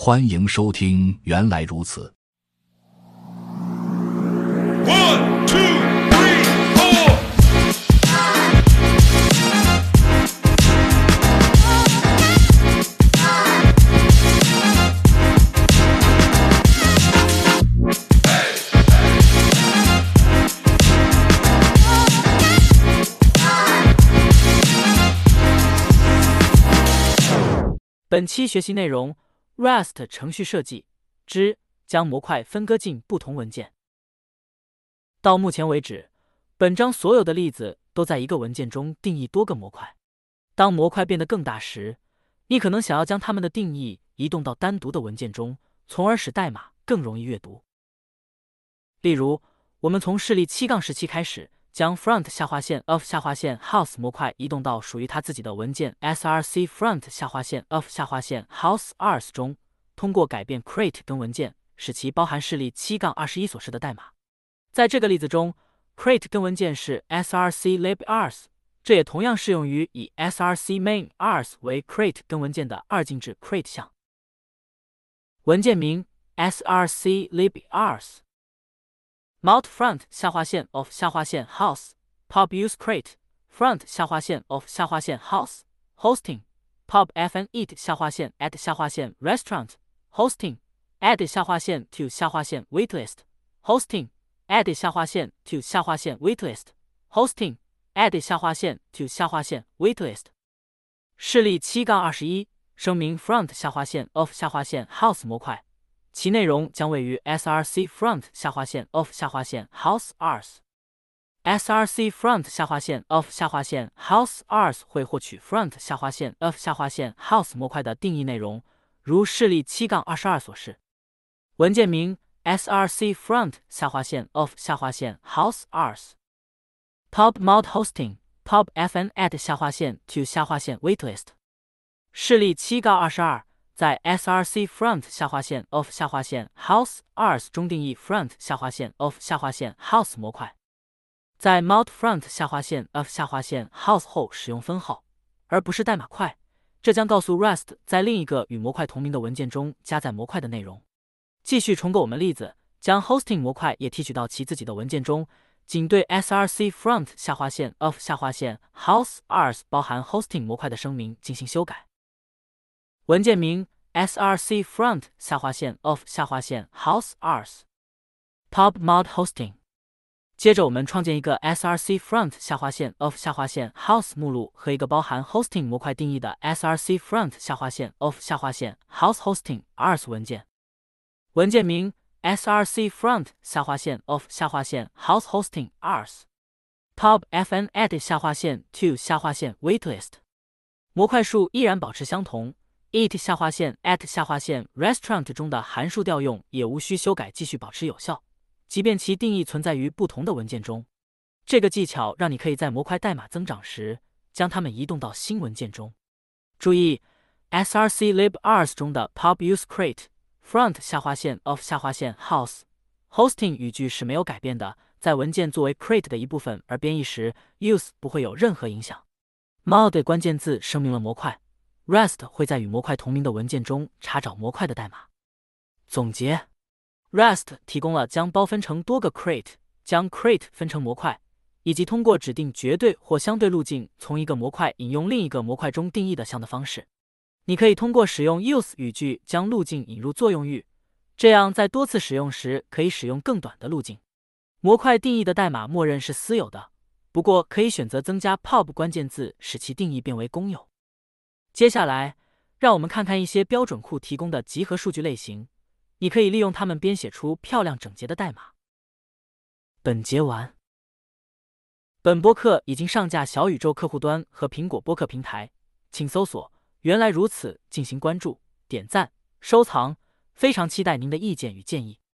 欢迎收听原来如此。 One, two, three, four. 本期学习内容 Rust 程序设计之将模块分割进不同文件。到目前为止，本章所有的例子都在一个文件中定义多个模块。当模块变得更大时，你可能想要将它们的定义移动到单独的文件中，从而使代码更容易阅读。例如，我们从示例7-17开始，将 front_of_house 模块移动到属于它自己的文件 src front_of_house_args 中，通过改变 create 根文件，使其包含示例7-21所示的代码。在这个例子中 ，create 根文件是 src libars， 这也同样适用于以 src main_ars 为 create 根文件的二进制 create 项。文件名 src libars。Mount front_of_house pub use create front_of_house hosting pub fn eat_at_restaurant hosting add_to_ waitlist hosting add_to_ waitlist hosting add_to_ waitlist 示例7-21声明 front_of_house 模块，其内容将位于 src front_of_house_ars。src front_of_house_ars 会获取 front_of_house 模块的定义内容，如示例7-22所示。文件名 src front_of_house_ars pub mount hosting pub fn add_to_ waitlist 示例7-22在 src front_of_house_ars 中定义 front_of_house 模块，在 mount front_of_house 后使用分号，而不是代码块，这将告诉 Rust 在另一个与模块同名的文件中加载模块的内容。继续重构我们例子，将 hosting 模块也提取到其自己的文件中，仅对 src front_of_house_ars 包含 hosting 模块的声明进行修改。文件名 src front_of_house_ars pub mount hosting。接着我们创建一个 src front_of_house 目录和一个包含 hosting 模块定义的 src front_of_house hosting_ars 文件。文件名 src front_of_house hosting_ars pub fn add_to_ waitlist 模块数依然保持相同。eat_at_restaurant 中的函数调用也无需修改，继续保持有效，即便其定义存在于不同的文件中。这个技巧让你可以在模块代码增长时将它们移动到新文件中。注意 src libars 中的 pub use create front_of_house hosting 语句是没有改变的，在文件作为 create 的一部分而编译时 use 不会有任何影响。mod 关键字声明了模块，Rust 会在与模块同名的文件中查找模块的代码。总结 Rust 提供了将包分成多个 crate， 将 crate 分成模块，以及通过指定绝对或相对路径从一个模块引用另一个模块中定义的项的方式。你可以通过使用 use 语句将路径引入作用域，这样在多次使用时可以使用更短的路径。模块定义的代码默认是私有的，不过可以选择增加 pub 关键字使其定义变为公有。接下来，让我们看看一些标准库提供的集合数据类型，你可以利用它们编写出漂亮整洁的代码。本节完。本播客已经上架小宇宙客户端和苹果播客平台，请搜索“原来如此”进行关注、点赞、收藏，非常期待您的意见与建议。